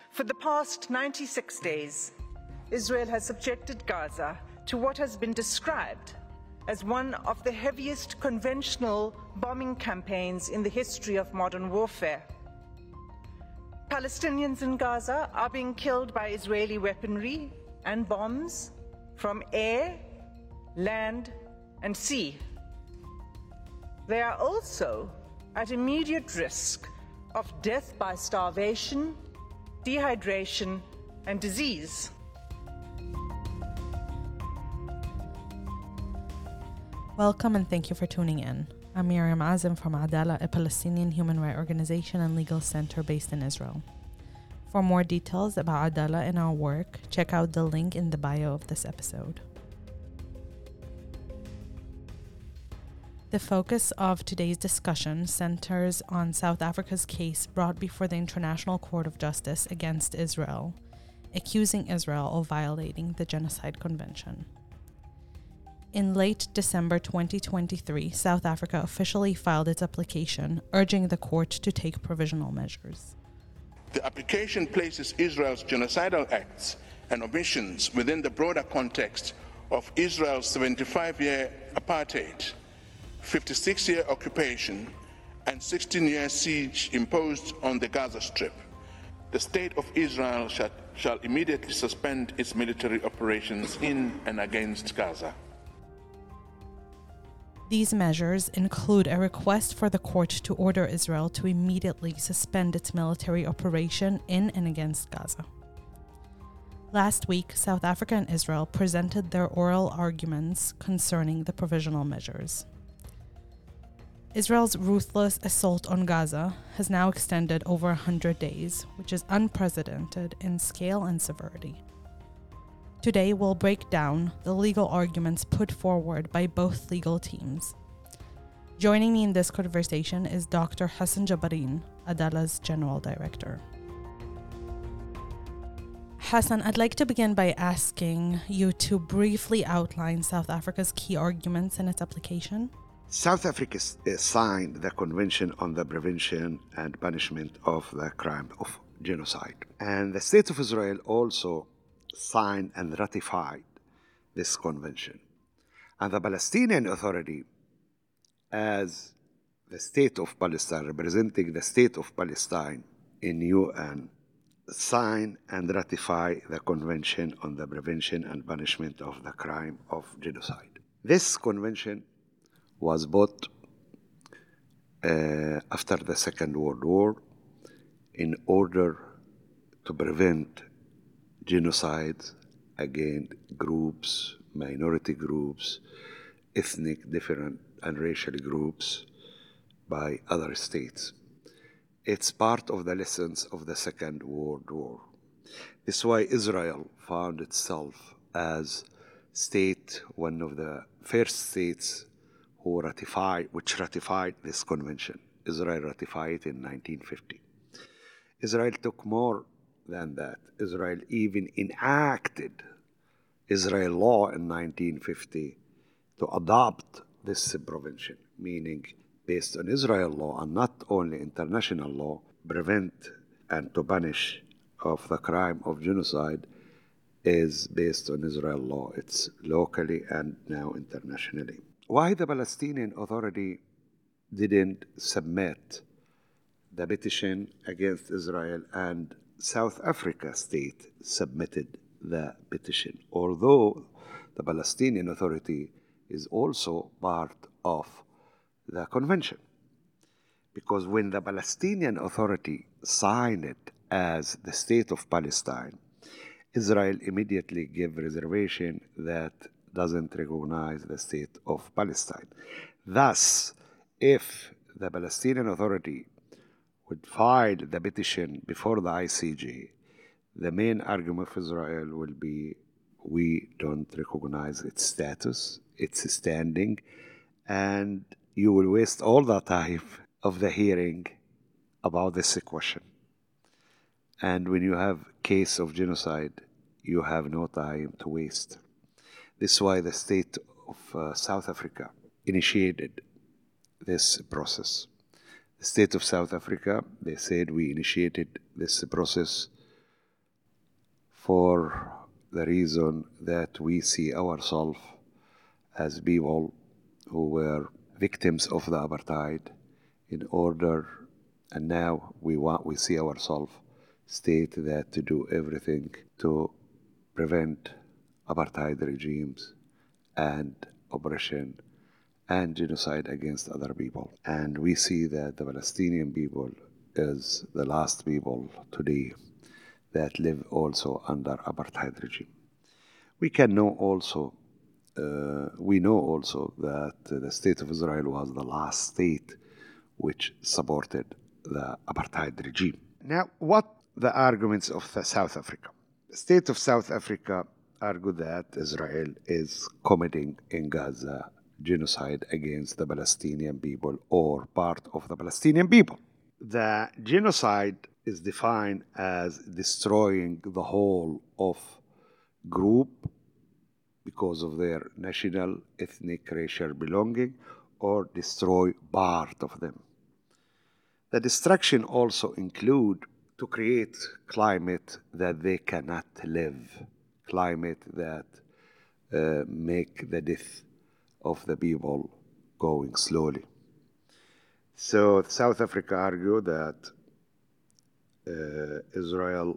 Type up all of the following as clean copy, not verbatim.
For the past 96 days, Israel has subjected Gaza to what has been described as one of the heaviest conventional bombing campaigns in the history of modern warfare. Palestinians in Gaza are being killed by Israeli weaponry and bombs from air, land, and sea. They are also at immediate risk of death by starvation, dehydration, and disease. Welcome and thank you for tuning in. I'm Miriam Azim from Adala, a Palestinian human rights organization and legal center based in Israel. For more details about Adala and our work, check out the link in the bio of this episode. The focus of today's discussion centers on South Africa's case brought before the International Court of Justice against Israel, accusing Israel of violating the Genocide Convention. In late December 2023, South Africa officially filed its application, urging the court to take provisional measures. The application places Israel's genocidal acts and omissions within the broader context of Israel's 75-year apartheid, 56-year occupation, and 16-year siege imposed on the Gaza Strip. The State of Israel shall immediately suspend its military operations in and against Gaza. These measures include a request for the court to order Israel to immediately suspend its military operation in and against Gaza. Last week, South Africa and Israel presented their oral arguments concerning the provisional measures. Israel's ruthless assault on Gaza has now extended over 100 days, which is unprecedented in scale and severity. Today, we'll break down the legal arguments put forward by both legal teams. Joining me in this conversation is Dr. Hassan Jabarin, Adala's General Director. Hassan, I'd like to begin by asking you to briefly outline South Africa's key arguments in its application. South Africa signed the Convention on the Prevention and Punishment of the Crime of Genocide. And the State of Israel also signed and ratified this convention. And the Palestinian Authority, as the State of Palestine, representing the State of Palestine in UN, signed and ratified the Convention on the Prevention and Punishment of the Crime of Genocide. This convention was brought after the Second World War in order to prevent genocides against groups, minority groups, ethnic, different, and racial groups by other states. It's part of the lessons of the Second World War. This is why Israel found itself as one of the first states which ratified this convention. Israel ratified it in 1950. Israel took more than that. Israel even enacted Israel law in 1950 to adopt this prevention, meaning based on Israel law and not only international law, prevent and to punish of the crime of genocide is based on Israel law. It's locally and now internationally. Why the Palestinian Authority didn't submit the petition against Israel and South Africa state submitted the petition, although the Palestinian Authority is also part of the convention. Because when the Palestinian Authority signed it as the State of Palestine, Israel immediately gave reservation that doesn't recognize the State of Palestine. Thus, if the Palestinian Authority would file the petition before the ICJ, the main argument of Israel will be, we don't recognize its status, its standing, and you will waste all the time of the hearing about this question. And when you have case of genocide, you have no time to waste. This is why the state of South Africa initiated this process. The state of South Africa, they said we initiated this process for the reason that we see ourselves as people who were victims of the apartheid in order, and now we see ourselves state that to do everything to prevent apartheid regimes and oppression and genocide against other people. And we see that the Palestinian people is the last people today that live also under apartheid regime. We know also that the state of Israel was the last state which supported the apartheid regime. Now, what the arguments of South Africa? The state of South Africa argue that Israel is committing in Gaza genocide against the Palestinian people or part of the Palestinian people. The genocide is defined as destroying the whole of group because of their national, ethnic, racial belonging, or destroy part of them. The destruction also include to create climate that they cannot live, climate that make the death of the people going slowly. So South Africa argue that Israel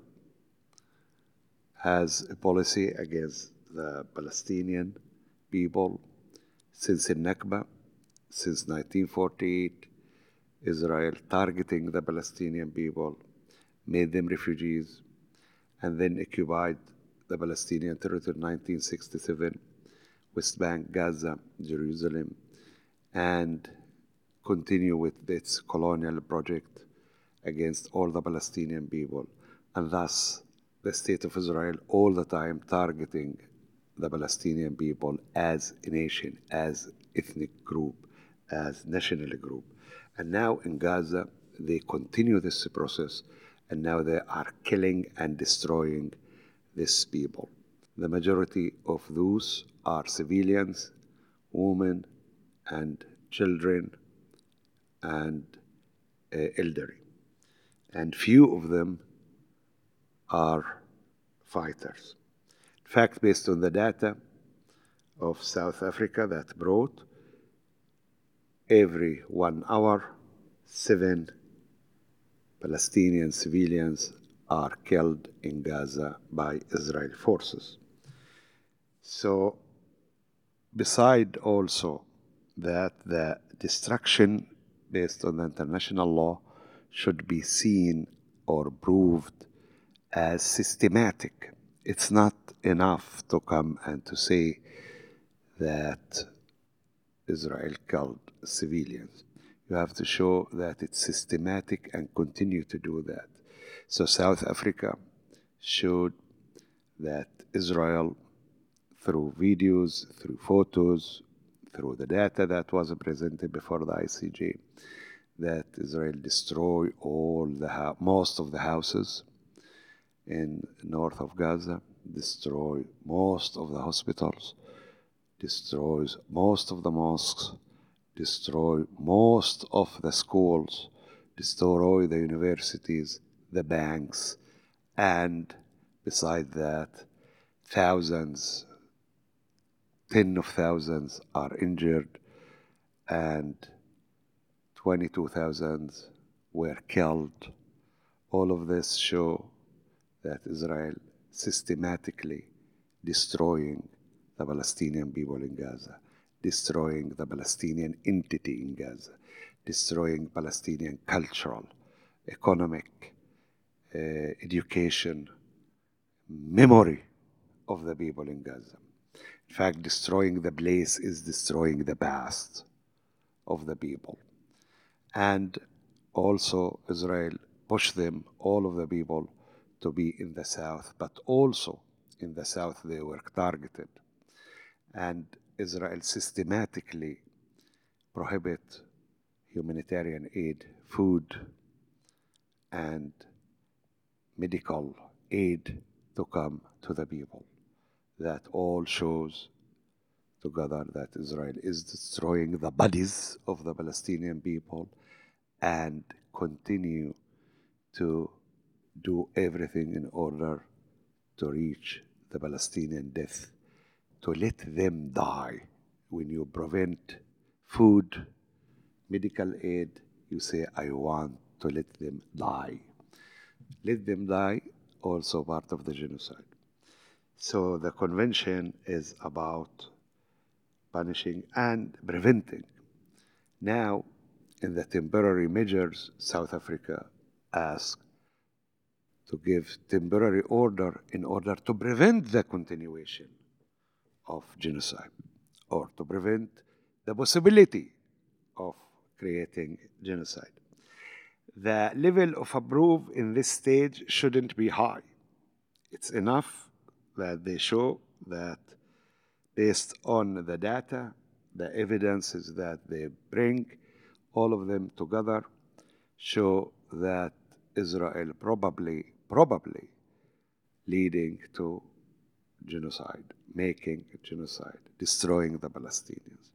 has a policy against the Palestinian people since the Nakba, since 1948, Israel targeting the Palestinian people, made them refugees, and then occupied the Palestinian territory in 1967, West Bank, Gaza, Jerusalem, and continue with its colonial project against all the Palestinian people, and thus the state of Israel all the time targeting the Palestinian people as a nation, as ethnic group, as national group. And now in Gaza, they continue this process, and now they are killing and destroying these people. The majority of those are civilians, women, and children, and elderly. And few of them are fighters. In fact, based on the data of South Africa that brought, every 1 hour, 7 Palestinian civilians are killed in Gaza by Israeli forces. So, beside also that the destruction based on the international law should be seen or proved as systematic. It's not enough to come and to say that Israel killed civilians. You have to show that it's systematic and continue to do that. So South Africa showed that Israel, through videos, through photos, through the data that was presented before the ICJ, that Israel destroyed most of the houses in north of Gaza, destroy most of the hospitals, destroys most of the mosques, destroy most of the schools, destroy the universities, the banks, and beside that, thousands, tens of thousands are injured, and 22,000 were killed. All of this show that Israel systematically destroying the Palestinian people in Gaza, destroying the Palestinian entity in Gaza, destroying Palestinian cultural, economic, education, memory of the people in Gaza. In fact, destroying the place is destroying the past of the people. And also Israel pushed them, all of the people, to be in the south, but also in the south they were targeted. And Israel systematically prohibit humanitarian aid, food, and medical aid to come to the people. That all shows together that Israel is destroying the bodies of the Palestinian people and continue to do everything in order to reach the Palestinian death, to let them die. When you prevent food, medical aid, you say, I want to let them die. Let them die, also part of the genocide. So the convention is about punishing and preventing. Now, in the temporary measures, South Africa asked to give temporary order in order to prevent the continuation of genocide or to prevent the possibility of creating genocide. The level of approval in this stage shouldn't be high. It's enough that they show that based on the data, the evidences that they bring, all of them together show that Israel probably leading to genocide, making genocide, destroying the Palestinians.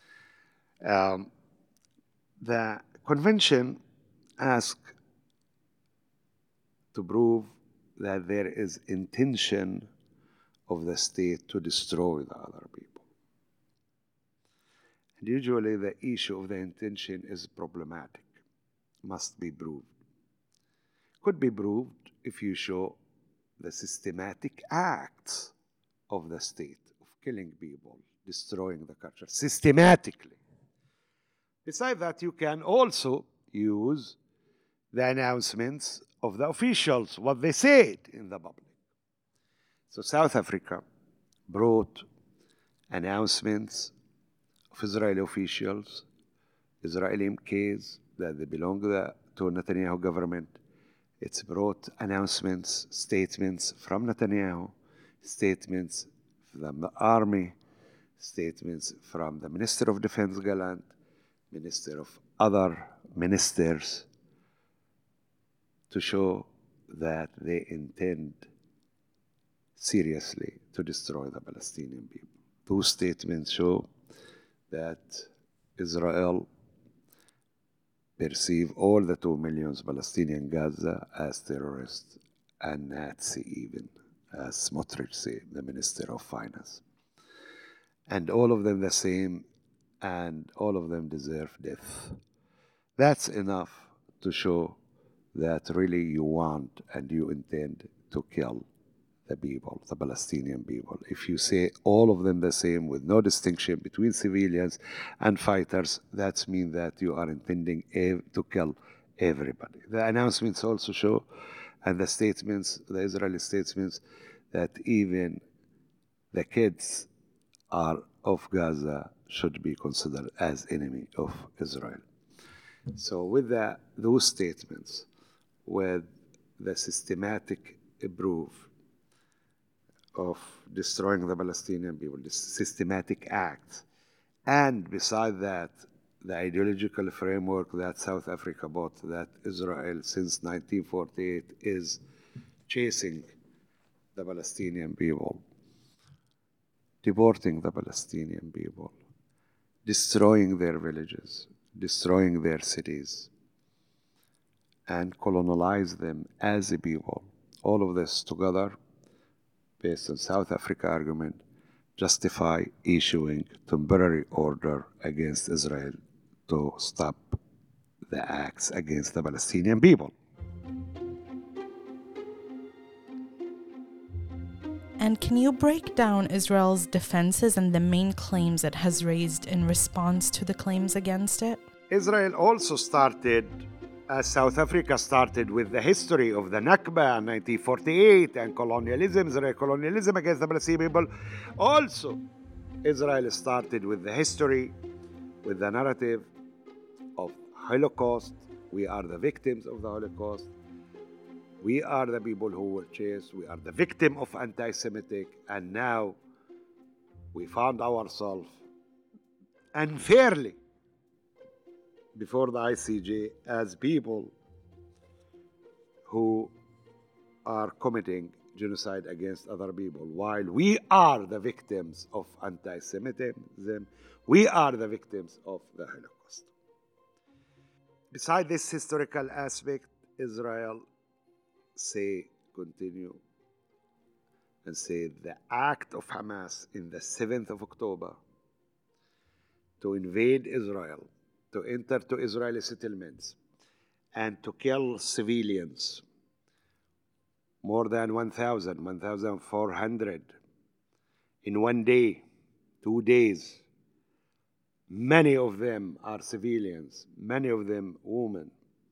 The convention asks to prove that there is intention of the state to destroy the other people. And usually the issue of the intention is problematic, must be proved. Could be proved if you show the systematic acts of the state of killing people, destroying the culture, systematically. Besides that, you can also use the announcements of the officials, what they said in the public. So South Africa brought announcements of Israeli officials, Israeli MKs, that they belong to Netanyahu government. It's brought announcements, statements from Netanyahu, statements from the army, statements from the Minister of Defense Gallant, Minister of other ministers, to show that they intend seriously to destroy the Palestinian people. Those statements show that Israel perceive all the 2 million Palestinian Gaza as terrorists and Nazi even, as Smotrich said, the Minister of Finance. And all of them the same, and all of them deserve death. That's enough to show that really you want and you intend to kill the people, the Palestinian people. If you say all of them the same with no distinction between civilians and fighters, that means that you are intending to kill everybody. The announcements also show, and the statements, the Israeli statements, that even the kids of Gaza should be considered as enemy of Israel. So with those statements, with the systematic proof of destroying the Palestinian people, the systematic act, and beside that, the ideological framework that South Africa bought, that Israel since 1948 is chasing the Palestinian people, deporting the Palestinian people, destroying their villages, destroying their cities, and colonize them as a people. All of this together, based on South Africa argument, justify issuing temporary order against Israel to stop the acts against the Palestinian people. And can you break down Israel's defenses and the main claims it has raised in response to the claims against it? Israel also started, as South Africa started, with the history of the Nakba in 1948 and colonialism, Israeli colonialism against the Palestinian people. Also, Israel started with the history, with the narrative of Holocaust. We are the victims of the Holocaust. We are the people who were chased. We are the victim of anti-Semitic. And now we found ourselves unfairly before the ICJ as people who are committing genocide against other people. While we are the victims of anti-Semitism, we are the victims of the Holocaust. Beside this historical aspect, Israel continue and say the act of Hamas in the 7th of October to invade Israel, to enter to Israeli settlements, and to kill civilians, more than 1,400 in one day, 2 days. Many of them are civilians, many of them women,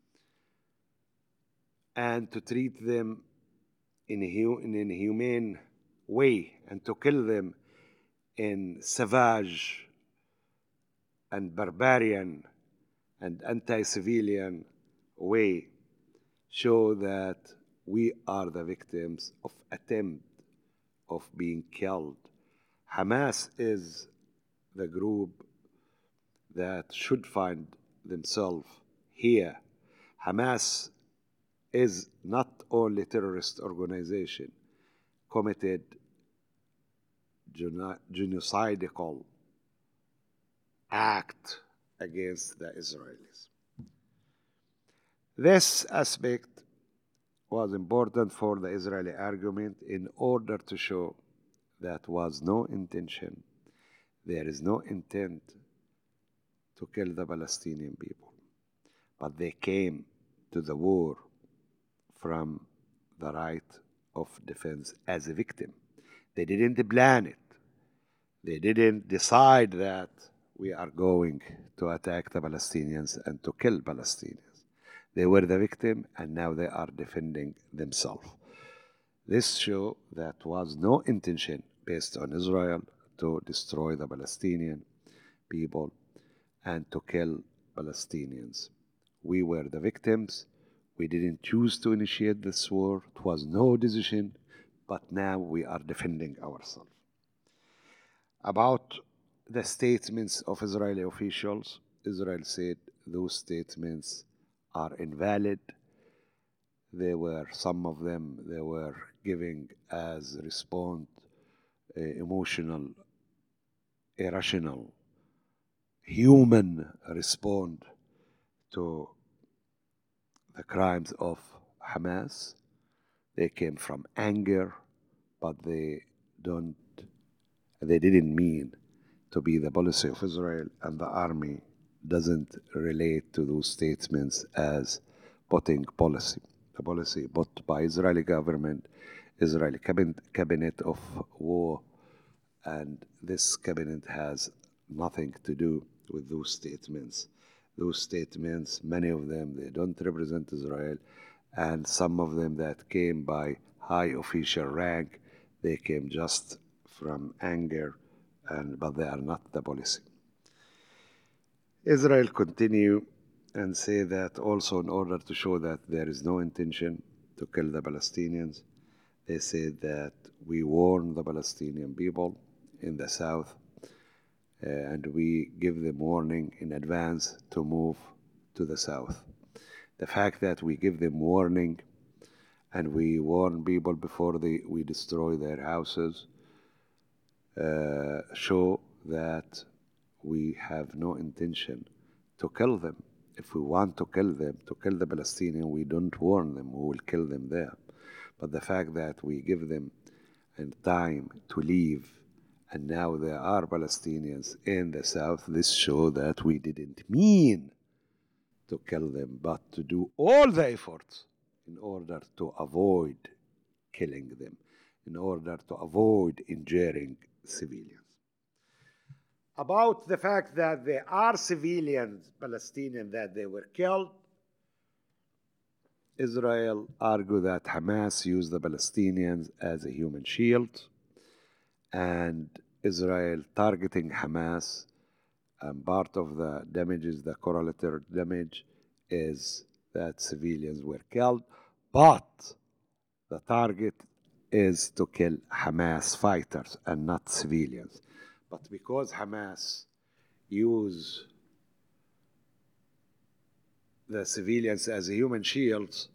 and to treat them in an inhumane way and to kill them in savage and barbarian and anti-civilian way show that we are the victims of attempt of being killed. Hamas is the group that should find themselves here. Hamas is not only terrorist organization committed genocidal act against the Israelis. This aspect was important for the Israeli argument in order to show that was no intention, there is no intent to kill the Palestinian people, but they came to the war from the right of defense as a victim. They didn't plan it. They didn't decide that we are going to attack the Palestinians and to kill Palestinians. They were the victim, and now they are defending themselves. This shows that was no intention based on Israel to destroy the Palestinian people and to kill Palestinians. We were the victims. We didn't choose to initiate this war. It was no decision, but now we are defending ourselves. About the statements of Israeli officials, Israel said those statements are invalid. Some of them, they were giving as response emotional, irrational, human response to the crimes of Hamas. They came from anger, but they didn't mean to be the policy of Israel, and the army doesn't relate to those statements as putting policy. The policy put by Israeli government, Israeli cabinet of war, and this cabinet has nothing to do with those statements. Those statements, many of them, they don't represent Israel, and some of them that came by high official rank, they came just from anger, but they are not the policy. Israel continue and say that also in order to show that there is no intention to kill the Palestinians, they said that we warn the Palestinian people in the south and we give them warning in advance to move to the south. The fact that we give them warning and we warn people before we destroy their houses show that we have no intention to kill them. If we want to kill them, to kill the Palestinians, we don't warn them, we will kill them there. But the fact that we give them time to leave, and now there are Palestinians in the south, this shows that we didn't mean to kill them, but to do all the efforts in order to avoid killing them, in order to avoid injuring civilians. About the fact that there are civilians, Palestinians, that they were killed, Israel argued that Hamas used the Palestinians as a human shield, and Israel targeting Hamas, and part of the damages, the collateral damage, is that civilians were killed, but the target is to kill Hamas fighters and not civilians. But because Hamas use the civilians as a human shields,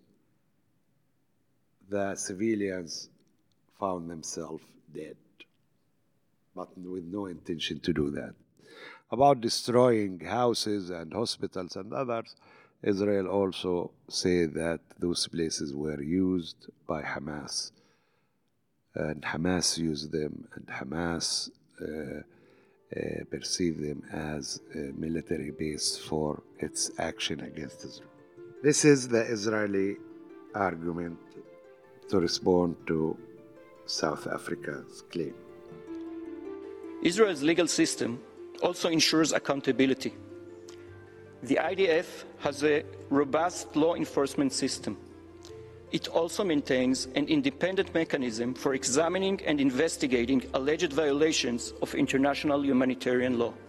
the civilians found themselves dead, but with no intention to do that. About destroying houses and hospitals and others, Israel also said that those places were used by Hamas and Hamas use them, and Hamas perceive them as a military base for its action against Israel. This is the Israeli argument to respond to South Africa's claim. Israel's legal system also ensures accountability. The IDF has a robust law enforcement system. It also maintains an independent mechanism for examining and investigating alleged violations of international humanitarian law.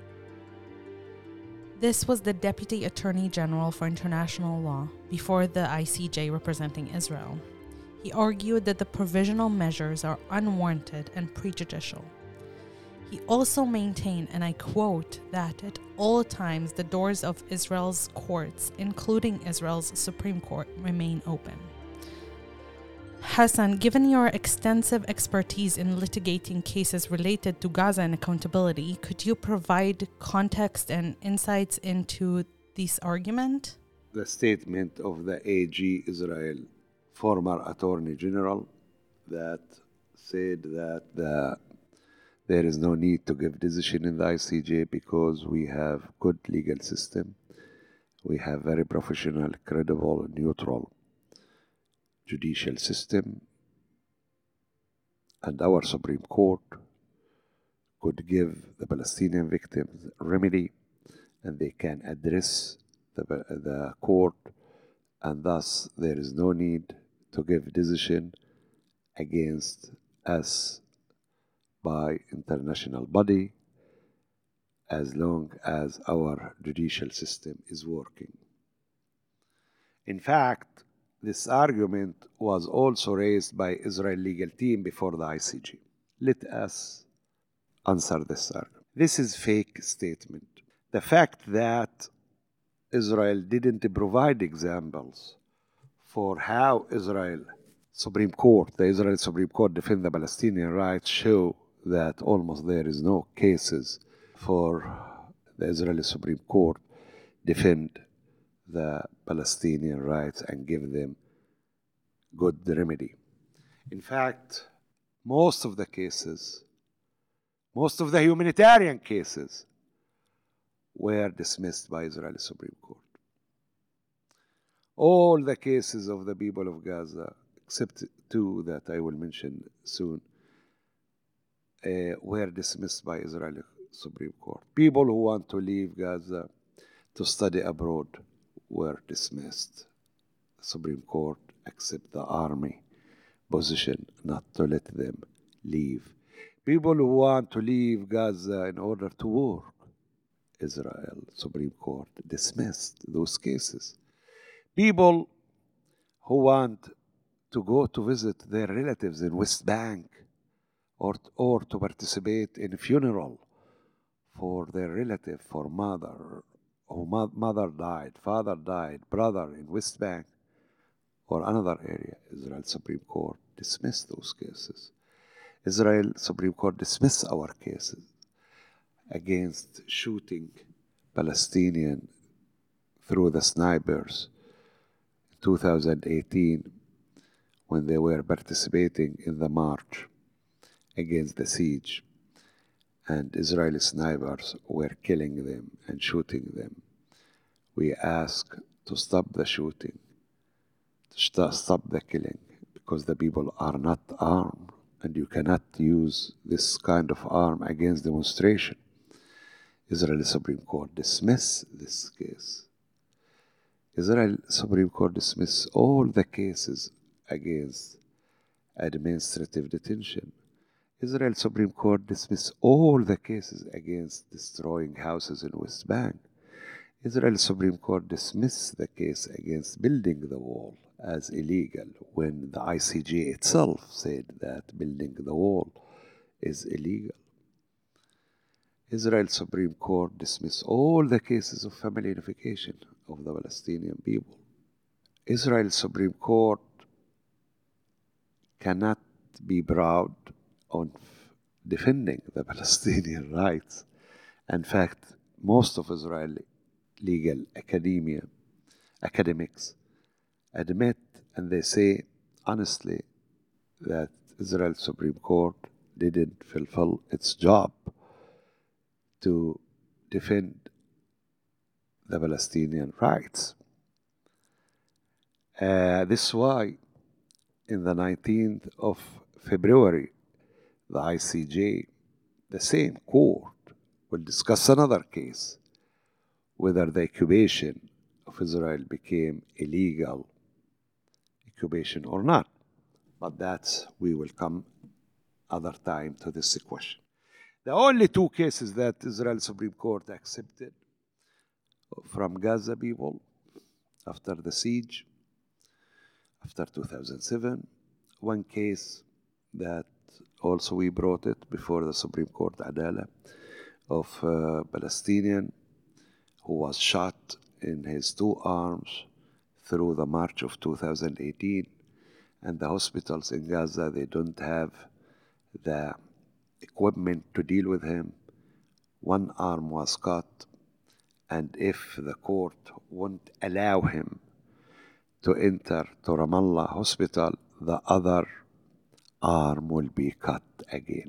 This was the Deputy Attorney General for International Law before the ICJ representing Israel. He argued that the provisional measures are unwarranted and prejudicial. He also maintained, and I quote, that at all times the doors of Israel's courts, including Israel's Supreme Court, remain open. Hassan, given your extensive expertise in litigating cases related to Gaza and accountability, could you provide context and insights into this argument? The statement of the AG Israel, former Attorney General, that said that there is no need to give decision in the ICJ because we have good legal system. We have very professional, credible, neutral judicial system, and our Supreme Court could give the Palestinian victims remedy, and they can address the court, and thus there is no need to give decision against us by international body as long as our judicial system is working. In fact, this argument was also raised by Israel legal team before the ICJ. Let us answer this argument. This is fake statement. The fact that Israel didn't provide examples for how the Israeli Supreme Court defend the Palestinian rights show that almost there is no cases for the Israeli Supreme Court defend the Palestinian rights and give them good remedy. In fact, most of the humanitarian cases were dismissed by Israeli Supreme Court. All the cases of the people of Gaza, except two that I will mention soon, were dismissed by Israeli Supreme Court. People who want to leave Gaza to study abroad were dismissed. The Supreme Court accept the army position not to let them leave. People who want to leave Gaza in order to work, Israel Supreme Court dismissed those cases. People who want to go to visit their relatives in West Bank or to participate in a funeral for their relative, for mother died, father died, brother in West Bank or another area, Israel Supreme Court dismissed those cases. Israel Supreme Court dismissed our cases against shooting Palestinian through the snipers in 2018 when they were participating in the march against the siege, and Israeli snipers were killing them and shooting them. We ask to stop the shooting, to stop the killing, because the people are not armed, and you cannot use this kind of arm against demonstration. Israeli Supreme Court dismissed this case. Israel Supreme Court dismissed all the cases against administrative detention. Israel Supreme Court dismissed all the cases against destroying houses in West Bank. Israel Supreme Court dismissed the case against building the wall as illegal when the ICJ itself said that building the wall is illegal. Israel Supreme Court dismissed all the cases of family unification of the Palestinian people. Israel Supreme Court cannot be proud on defending the Palestinian rights. In fact, most of Israeli legal academics admit, and they say honestly, that Israel Supreme Court didn't fulfill its job to defend the Palestinian rights. This is why in the 19th of February, the ICJ, the same court, will discuss another case, whether the occupation of Israel became illegal occupation or not. But that's, we will come other time to this question. The only two cases that Israel Supreme Court accepted from Gaza people after the siege, after 2007, one case that also we brought it before the Supreme Court, Adala, of a Palestinian who was shot in his two arms through the March of 2018. And the hospitals in Gaza, they don't have the equipment to deal with him. One arm was cut, and if the court won't allow him to enter to Ramallah hospital, the other arm will be cut again.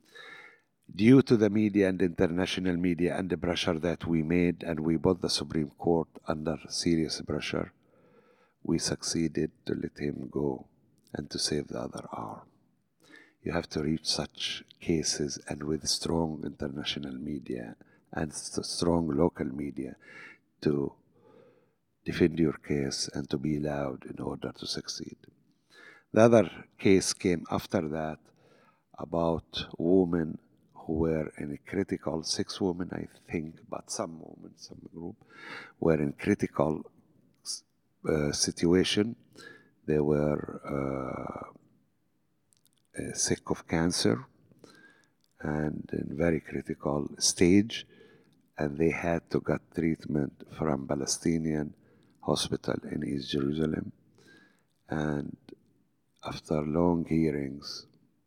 Due to the media and international media and the pressure that we made, and we put the Supreme Court under serious pressure, we succeeded to let him go and to save the other arm. You have to reach such cases, and with strong international media and strong local media to defend your case and to be loud in order to succeed. The other case came after that about women who were in a critical, 6 women I think, but some women, some group, were in critical situation. They were sick of cancer and in very critical stage, and they had to get treatment from Palestinian hospital in East Jerusalem. And after long hearings,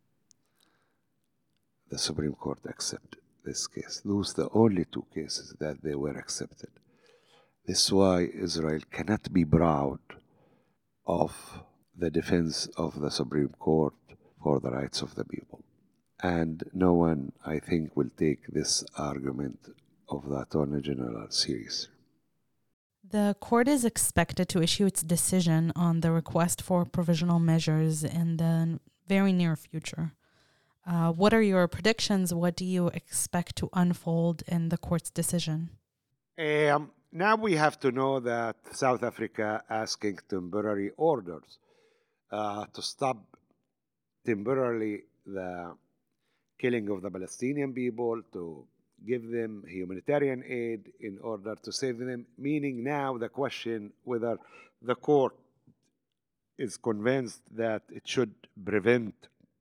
the Supreme Court accepted this case. Those are the only 2 cases that they were accepted. This is why Israel cannot be proud of the defense of the Supreme Court for the rights of the people. And no one, I think, will take this argument of the Attorney General serious. The court is expected to issue its decision on the request for provisional measures in the very near future. What are your predictions? What do you expect to unfold in the court's decision? Now we have to know that South Africa asking temporary orders to stop temporarily the killing of the Palestinian people, to give them humanitarian aid in order to save them, meaning now the question whether the court is convinced that it should prevent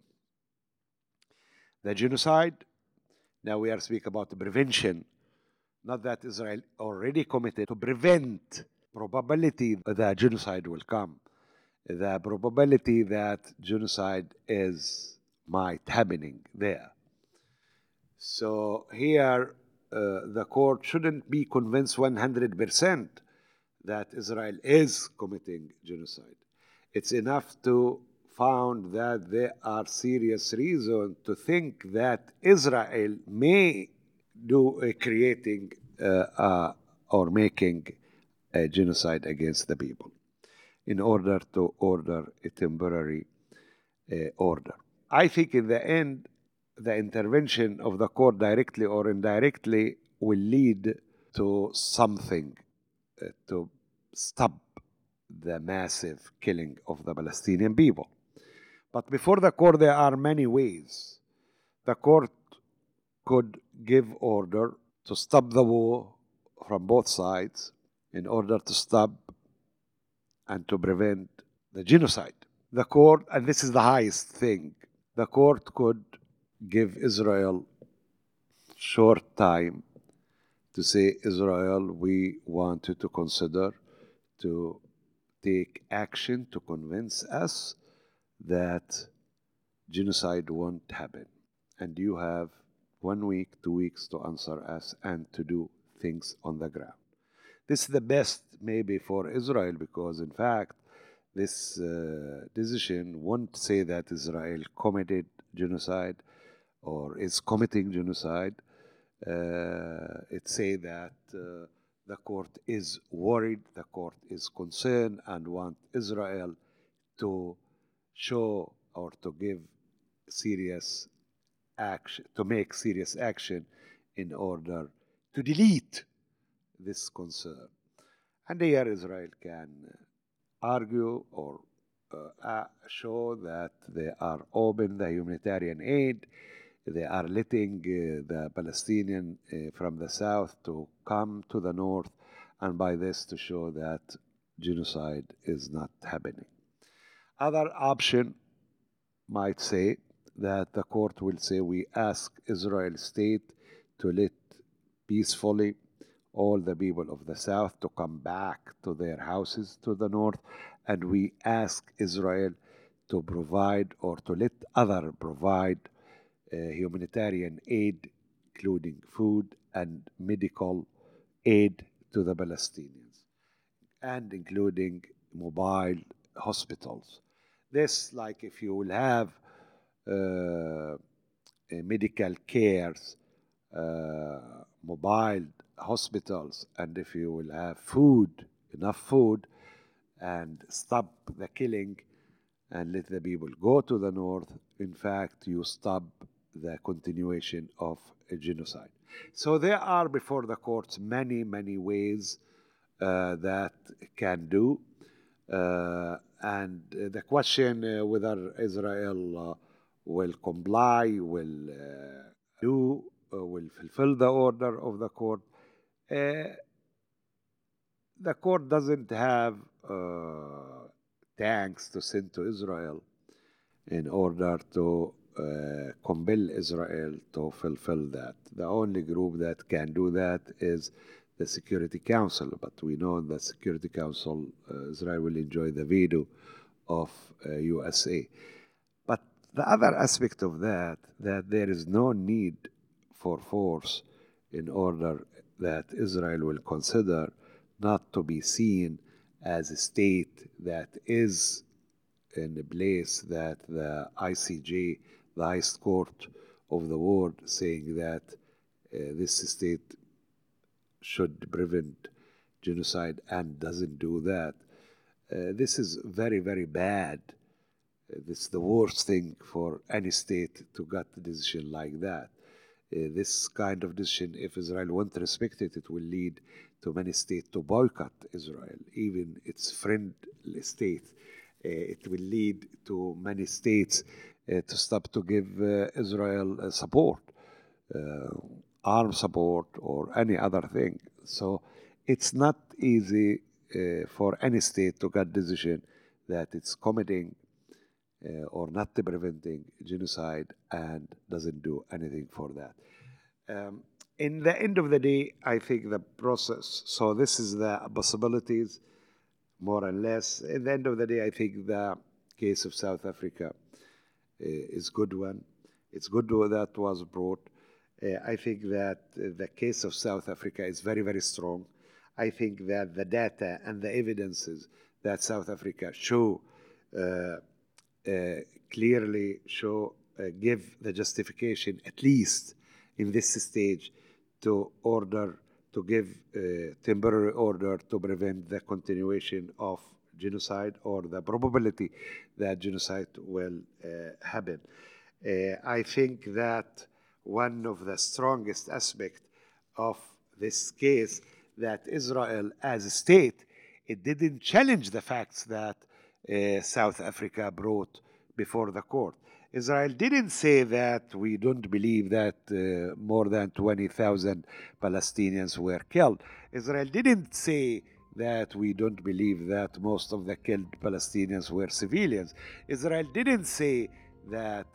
the genocide. Now we are speaking about the prevention, not that Israel already committed, to prevent probability that genocide will come, the probability that genocide might happening there. So here the court shouldn't be convinced 100% that Israel is committing genocide. It's enough to found that there are serious reasons to think that Israel may do creating or making a genocide against the people in order to order a temporary order. I think in the end, the intervention of the court directly or indirectly will lead to something to stop the massive killing of the Palestinian people. But before the court, there are many ways. The court could give order to stop the war from both sides in order to stop and to prevent the genocide. The court, and this is the highest thing, the court could give Israel short time to say, Israel, we want you to consider to take action to convince us that genocide won't happen. And you have 1 week, 2 weeks to answer us and to do things on the ground. This is the best maybe for Israel because in fact this decision won't say that Israel committed genocide or is committing genocide. It say that the court is worried, the court is concerned, and want Israel to show or to give serious action, to make serious action in order to delete this concern. And here Israel can argue or show that they are open the humanitarian aid, they are letting the Palestinian from the south to come to the north, and by this to show that genocide is not happening. Other option might say that the court will say we ask Israel state to let peacefully all the people of the south to come back to their houses to the north, and we ask Israel to provide or to let other provide humanitarian aid, including food and medical aid to the Palestinians, and including mobile hospitals. This, like if you will have medical cares, mobile hospitals, and if you will have food, enough food, and stop the killing and let the people go to the north, in fact, you stop the continuation of a genocide. So there are before the courts many, many ways that can do. And the question whether Israel will comply, will fulfill the order of the court. The court doesn't have tanks to send to Israel in order to compel Israel to fulfill that. The only group that can do that is the Security Council, but we know in the Security Council Israel will enjoy the veto of USA. But the other aspect of that there is no need for force in order that Israel will consider not to be seen as a state that is in a place that the ICJ, the highest court of the world, saying that this state should prevent genocide and doesn't do that. This is very, very bad. This is the worst thing for any state to get a decision like that. This kind of decision, if Israel won't respect it, it will lead to many states to boycott Israel, even its friendly states. It will lead to many states to stop to give Israel support, armed support or any other thing. So it's not easy for any state to get decision that it's committing or not preventing genocide and doesn't do anything for that. In the end of the day, I think the process, so this is the possibilities, more or less. In the end of the day, I think the case of South Africa is good one. It's good that was brought. I think that the case of South Africa is very, very strong. I think that the data and the evidences that South Africa show clearly show, give the justification, at least in this stage, to order, to give temporary order to prevent the continuation of genocide or the probability that genocide will happen. I think that one of the strongest aspects of this case that Israel as a state, it didn't challenge the facts that South Africa brought before the court. Israel didn't say that we don't believe that more than 20,000 Palestinians were killed. Israel didn't say that we don't believe that most of the killed Palestinians were civilians. Israel didn't say that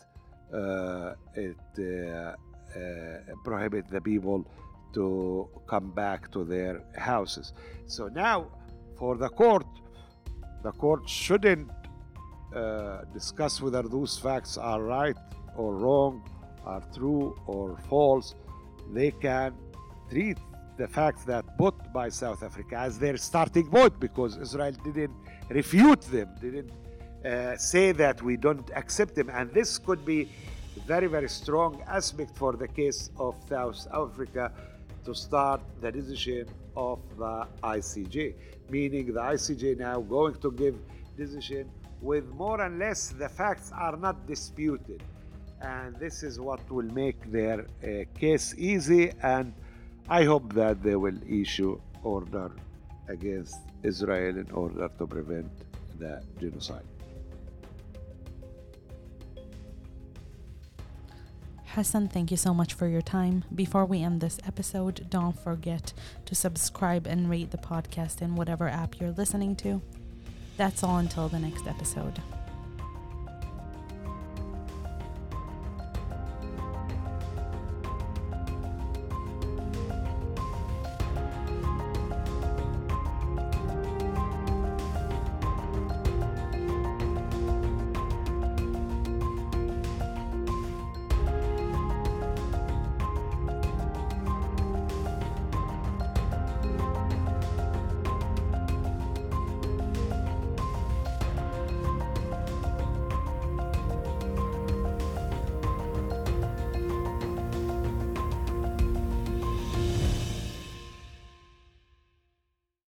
it prohibit the people to come back to their houses. So now for the court shouldn't discuss whether those facts are right or wrong, are true or false. They can treat the fact that put by South Africa as their starting point, because Israel didn't refute them, didn't say that we don't accept them. And this could be a very, very strong aspect for the case of South Africa to start the decision of the ICJ, meaning the ICJ now going to give decision with more and less the facts are not disputed. And this is what will make their case easy, and I hope that they will issue order against Israel in order to prevent the genocide. Hassan, thank you so much for your time. Before we end this episode, don't forget to subscribe and rate the podcast in whatever app you're listening to. That's all until the next episode.